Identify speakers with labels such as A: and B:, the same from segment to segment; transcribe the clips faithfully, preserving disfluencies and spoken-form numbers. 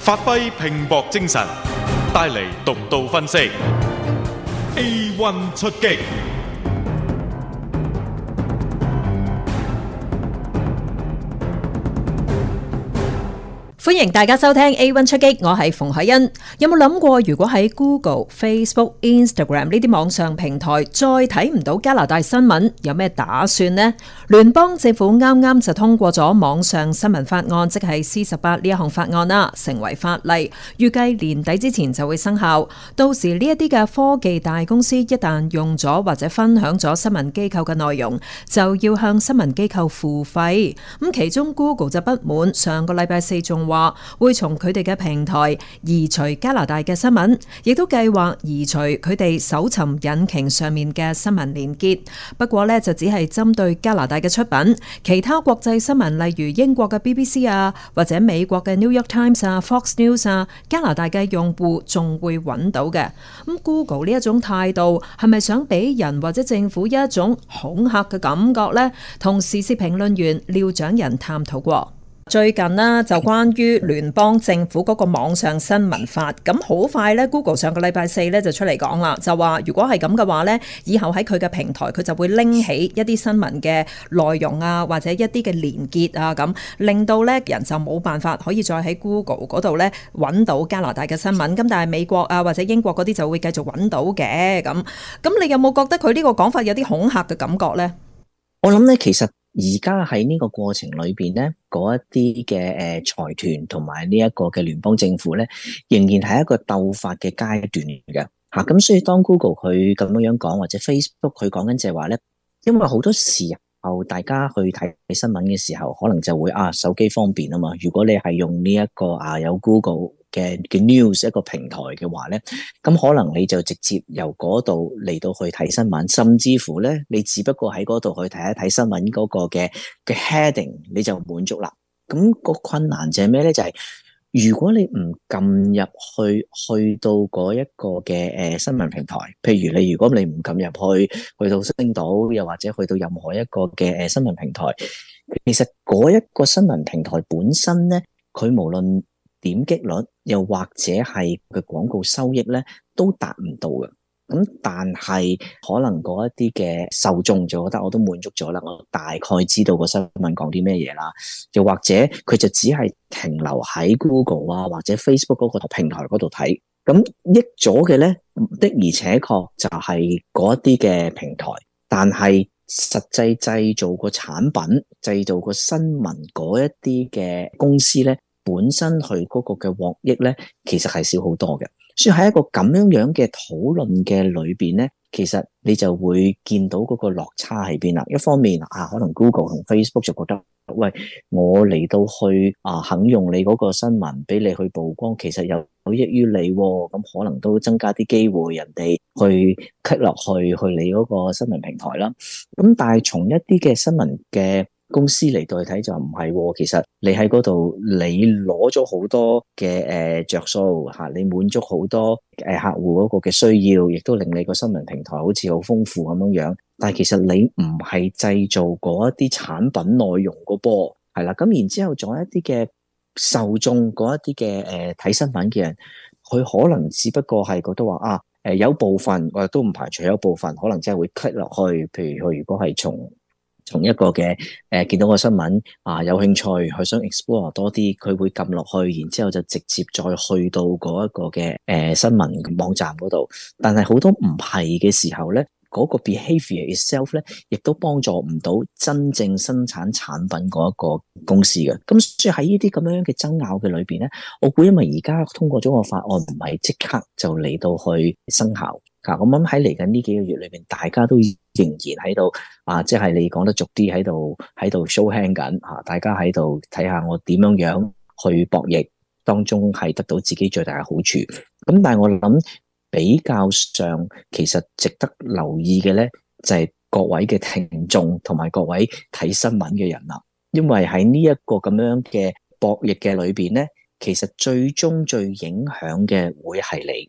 A: 發揮拼搏精神，帶嚟獨到分析。A one 出擊。
B: 歡迎大家收聽 A one 出擊，我係馮海欣。有冇諗過，如果喺 Google、Facebook、Instagram 呢啲網上平台再睇唔到加拿大新聞，有咩打算呢？聯邦政府啱啱就通過咗網上新聞法案，即係 C 十八呢一項法案啦，成為法例，預計年底之前就會生效。到時呢一啲嘅科技大公司一旦用咗或者分享咗新聞機構嘅內容，就要向新聞機構付費。咁其中 Google 就不滿，上個禮拜四仲話會從佢哋嘅平台移除加拿大嘅新聞，亦都計劃移除佢哋搜尋引擎上面嘅新聞連結。不過呢，就只係針對加拿大嘅出品，其他國際新聞例如英國嘅 B B C 啊，或者美國嘅 New York Times 啊、Fox News 啊，加拿大嘅用戶仲會揾到嘅。咁 Google 呢一種態度係咪想俾人或者政府一種恐嚇嘅感覺呢？同時事評論員廖長仁探討過。最近呢，就關於聯邦政府嗰個網上新聞法，咁好快呢 Google 上個禮拜四呢就出嚟講啦，就話如果係咁嘅話呢，以後喺佢嘅平台佢就會拎起一啲新聞嘅內容啊，或者一啲嘅連結啊，咁令到呢人就冇辦法可以再喺 Google 嗰度呢揾到加拿大嘅新聞，咁但係美國啊或者英國嗰啲就會繼續揾到嘅。咁咁你有冇覺得佢呢個講法有啲恐嚇嘅感覺呢？
C: 我諗呢，其實而家喺呢個過程裏邊咧，嗰一啲嘅誒財團同埋呢一個嘅聯邦政府咧，仍然係一個鬥法嘅階段嚟嘅嚇。咁所以當 Google 佢咁樣樣講，或者 Facebook 佢講緊就係話咧，因為好多時候大家去睇新聞嘅時候，可能就會啊手機方便啊嘛。如果你係用呢一個啊有 Google 嘅嘅 news 一個平台嘅話咧，咁可能你就直接由嗰度嚟到去睇新聞，甚至乎咧，你只不過喺嗰度去睇一睇新聞嗰個嘅嘅 heading，你就滿足啦。咁個困難就係咩咧？就係如果你唔撳入去，去到嗰一個嘅誒新聞平台，譬如你如果你唔撳入去，去到星島，又或者去到任何一個嘅誒新聞平台，其實嗰一個新聞平台本身咧，佢無論點擊率又或者係佢廣告收益咧，都達唔到嘅。咁但係可能嗰一啲嘅受眾就覺得我都滿足咗啦，我大概知道個新聞講啲咩嘢啦。又或者佢就只係停留喺 Google 啊或者 Facebook 嗰個平台嗰度睇。咁益咗嘅咧，的而且確就係嗰一啲嘅平台，但係實際製造個產品、製造個新聞嗰一啲嘅公司咧，本身佢嗰個嘅獲益咧，其實係少好多嘅。所以喺一個咁樣樣嘅討論嘅裏邊咧，其實你就會見到嗰個落差喺邊啦。一方面啊，可能 Google 同 Facebook 就覺得，喂，我嚟到去啊肯用你嗰個新聞俾你去曝光，其實有有益於你，咁可能都增加啲機會人哋去 click 落去去你嗰個新聞平台啦。咁但係從一啲嘅新聞嘅公司嚟到去睇就唔係，其實你喺嗰度你攞咗好多嘅誒着數吓，你滿足好多誒客戶嗰個嘅需要，亦都令你個新聞平台好似好豐富咁樣樣。但係其實你唔係製造嗰一啲產品內容個波，係啦。咁然之後仲有一啲嘅受眾嗰一啲嘅誒睇新聞嘅人，佢可能只不過係覺得話啊誒有部分我都唔排除有部分可能真係會 click 落去，譬如佢如果係從從一個嘅誒、呃、見到個新聞啊有興趣，佢想 explore 多啲，佢會撳落去，然之後就直接再去到嗰一個嘅誒、呃、新聞網站嗰度。但係好多唔係嘅時候咧，嗰、那個 behavior itself 咧，亦都幫助唔到真正生產產品嗰一個公司嘅。咁所以喺呢啲咁樣嘅爭拗嘅裏邊咧，我估因為而家通過咗個法案，唔係即刻就嚟到去生效。咁我諗喺嚟緊呢幾個月裏邊，大家都仍然喺度啊，即係你講得俗啲喺度喺度 show hand 緊吓，大家喺度睇下我點樣樣去博弈，當中係得到自己最大嘅好處。咁但係我諗比較上，其實值得留意嘅咧，就係各位嘅聽眾同埋各位睇新聞嘅人啦。因為喺呢一個咁樣嘅博弈嘅裏邊咧，其實最終最影響嘅會係你。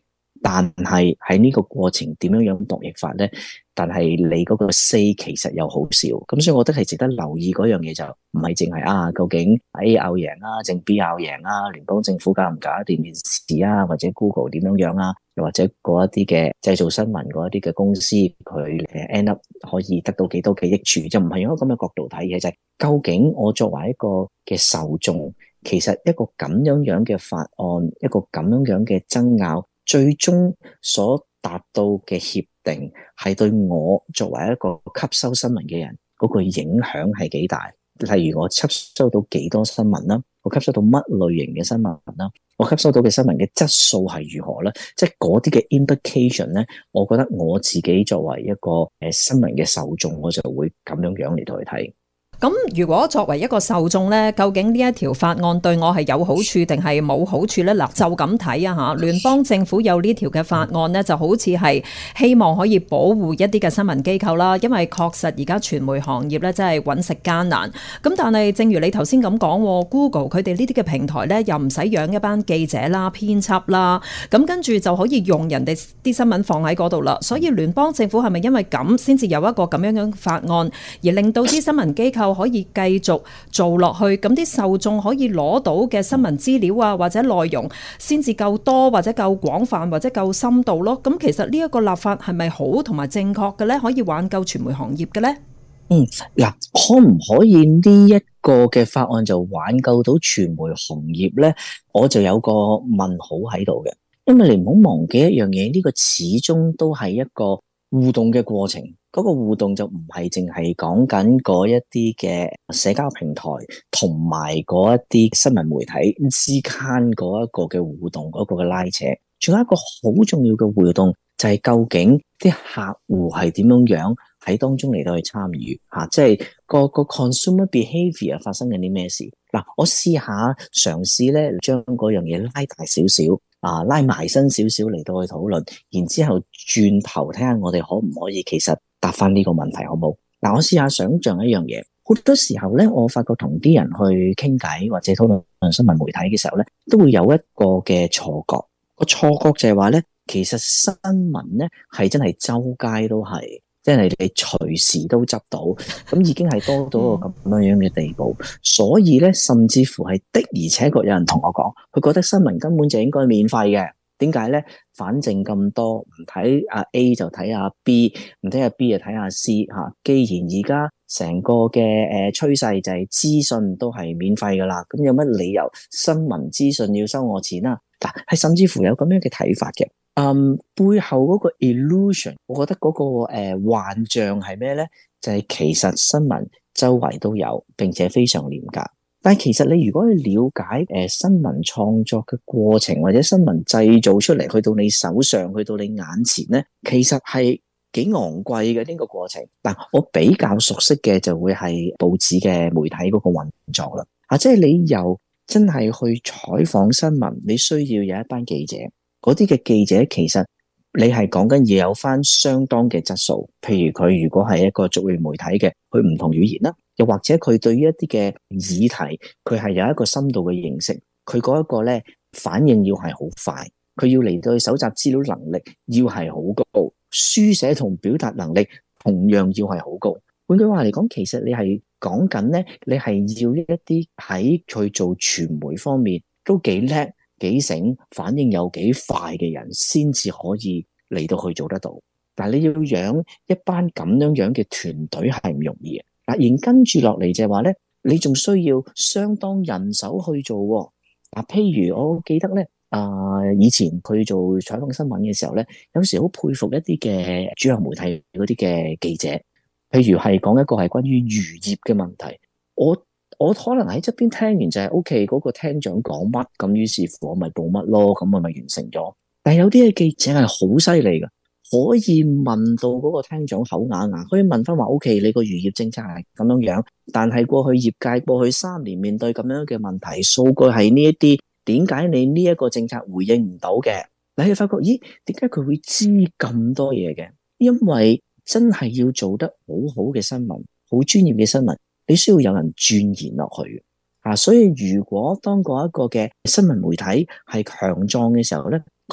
C: 但係喺呢個過程點樣樣博弈法咧？但係你嗰個 say 其實又好少，咁所以我覺得係值得留意嗰樣嘢，就唔係淨係啊，究竟 A 拗贏啊，定 B 拗贏啊，聯邦政府搞唔搞掂件事啊，或者 Google 點樣樣啊，又或者嗰一啲嘅製造新聞嗰一啲嘅公司，佢誒 end up 可以得到幾多嘅益處，就唔係用一個咁嘅角度睇嘅，就係、是、究竟我作為一個嘅受眾，其實一個咁樣樣嘅法案，一個咁樣樣嘅爭拗，最終所達到嘅協定係對我作為一個吸收新聞嘅人嗰個影響係幾大？例如我吸收到幾多新聞啦，我吸收到乜類型嘅新聞啦，我吸收到嘅新聞嘅質素係如何咧？即係嗰啲嘅 implication 咧，我覺得我自己作為一個誒新聞嘅受眾，我就會咁樣樣嚟到去睇。
B: 咁如果作為一個受眾呢，究竟呢一條法案對我係有好處定係冇好處呢？嗱，就咁睇啊嚇，聯邦政府有呢條嘅法案呢，就好似係希望可以保護一啲嘅新聞機構啦，因為確實而家傳媒行業呢真係揾食艱難。咁但係正如你頭先咁講 ，Google 佢哋呢啲嘅平台呢，又唔使養一班記者啦、編輯啦，咁跟住就可以用人哋啲新聞放喺嗰度啦。所以聯邦政府係咪因為咁先至有一個咁樣嘅法案，而令到啲新聞機構可以繼續做落去，咁啲受眾可以攞到嘅新聞資料啊，或者內容先至夠多，或者夠廣泛，或者夠深度咯。咁其實呢一個立法係咪好同埋正確嘅呢？可以挽救傳媒行業嘅呢？
C: 嗯，嗱，可唔可以呢一個嘅法案就挽救到傳媒行業呢？我就有個問號喺度嘅，因為你唔好忘記一樣嘢，呢個始終都係一個互動嘅過程。嗰個互動就唔係淨係講緊嗰一啲嘅社交平台同埋嗰一啲新聞媒體之間嗰一個嘅互動，嗰個嘅拉扯，仲有一個好重要嘅互動就係究竟啲客戶係點樣樣喺當中嚟到去參與嚇，即係個個 consumer behavior 發生緊啲咩事嗱？我試下嘗試咧將嗰樣嘢拉大少少。啊，拉埋身少少嚟到去討論，然之後轉頭睇下我哋可唔可以其實答翻呢個問題好冇？嗱、啊，我試下想像一樣嘢，好多時候咧，我發覺同啲人去傾偈或者討論新聞媒體嘅時候咧，都會有一個嘅錯覺，個錯覺就係話咧，其實新聞咧係真係周街都係。即係你隨時都執到，咁已經係多到個咁樣樣嘅地步，所以咧，甚至乎係的而且確有人同我講，佢覺得新聞根本就應該免費嘅。點解咧？反正咁多，唔睇阿 A 就睇阿 B， 唔睇阿 B 就睇阿 C 吓。既然而家成個嘅誒趨勢就係資訊都係免費噶啦，咁有乜理由新聞資訊要收我錢啊？嗱，係甚至乎有咁樣嘅睇法嘅。嗯，背後嗰個 illusion，我覺得嗰、那個誒、呃、幻象係咩咧？就係、是、其實新聞周圍都有，並且非常廉價。但係其實你如果去了解誒、呃、新聞創作嘅過程，或者新聞製造出嚟去到你手上，去到你眼前咧，其實係幾昂貴嘅呢個過程。嗱，我比較熟悉嘅就會係報紙嘅媒體嗰個運作啦。啊，即係你由真係去採訪新聞，你需要有一班記者。嗰啲嘅記者其實你係講緊要有翻相當嘅質素，譬如佢如果係一個族裔媒體嘅，佢唔同語言啦，又或者佢對於一啲嘅議題，佢係有一個深度嘅認識，佢嗰一個咧反應要係好快，佢要嚟到去搜集資料能力要係好高，書寫同表達能力同樣要係好高。換句話嚟講，其實你係講緊咧，你係要一啲喺佢做傳媒方面都幾叻，幾醒，反應有幾快嘅人先至可以嚟到去做得到。但係你要養一班咁樣樣嘅團隊係唔容易嘅。嗱，然跟住落嚟就係話咧，你仲需要相當人手去做。嗱，譬如我記得咧，啊、呃，以前佢做採訪新聞嘅時候咧，有時好佩服一啲嘅主流媒體嗰啲嘅記者，譬如係講一個係關於漁業嘅問題，我。我可能喺側邊聽完就係 O K 嗰個廳長講乜，咁於是乎我咪報乜咯，咁我咪完成咗。但係有啲嘅記者係好犀利㗎，可以問到嗰個廳長口啞啞，可以問翻話 O K 你個漁業政策係咁樣樣，但係過去業界過去三年面對咁樣嘅問題，數據係呢一啲，點解你呢一個政策回應唔到嘅？你係發覺咦，點解佢會知咁多嘢嘅？因為真係要做得好好嘅新聞，好專業嘅新聞。你需要有人鑽研落去啊，所以如果當嗰一個嘅新聞媒體係強壯嘅時候咧，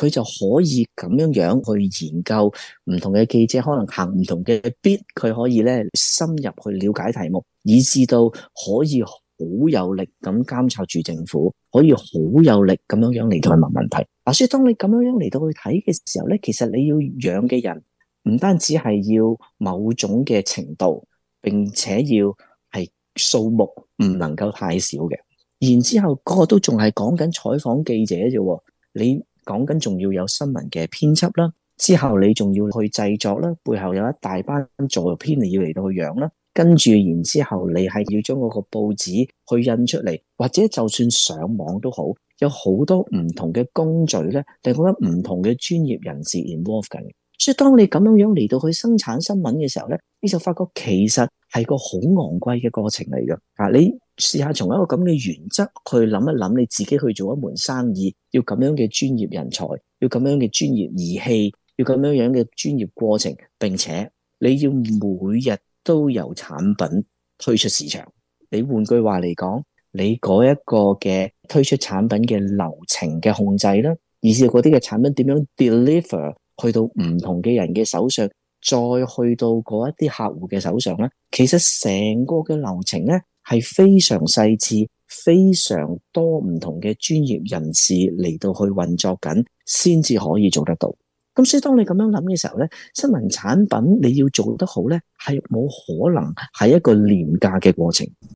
C: 佢就可以咁樣樣去研究唔同嘅記者，可能行唔同嘅 beat，佢可以咧深入去了解題目，以至到可以好有力咁監察住政府，可以好有力咁樣樣嚟到去問問題。嗱，所以當你咁樣樣嚟到去睇嘅時候咧，其實你要養嘅人唔單止係要某種嘅程度，並且要係數目唔能夠太少嘅。然之後個個都仲係講緊採訪記者啫，你講緊仲要有新聞嘅編輯啦，之後你仲要去製作啦，背後有一大班助編你要嚟到去養啦，跟住然之後你係要將嗰個報紙去印出嚟，或者就算上網都好，有好多唔同嘅工序咧，你覺得唔同嘅專業人士 involve 緊。所以當你咁樣樣嚟到去生產新聞嘅時候咧，你就發覺其實係個好昂貴嘅過程嚟嘅。啊，你試下從一個咁嘅原則去諗一諗，你自己去做一門生意，要咁樣嘅專業人才，要咁樣嘅專業儀器，要咁樣樣嘅專業過程，並且你要每日都有產品推出市場。你換句話嚟講，你嗰一個嘅推出產品嘅流程嘅控制啦，以至嗰啲嘅產品點樣 deliver 去到唔同嘅人嘅手上，再去到嗰一啲客戶嘅手上咧，其實成個嘅流程咧係非常細緻，非常多唔同嘅專業人士嚟到去運作緊，先至可以做得到。咁所以當你咁樣諗嘅時候咧，新聞產品你要做得好咧，係冇可能係一個廉價嘅過程。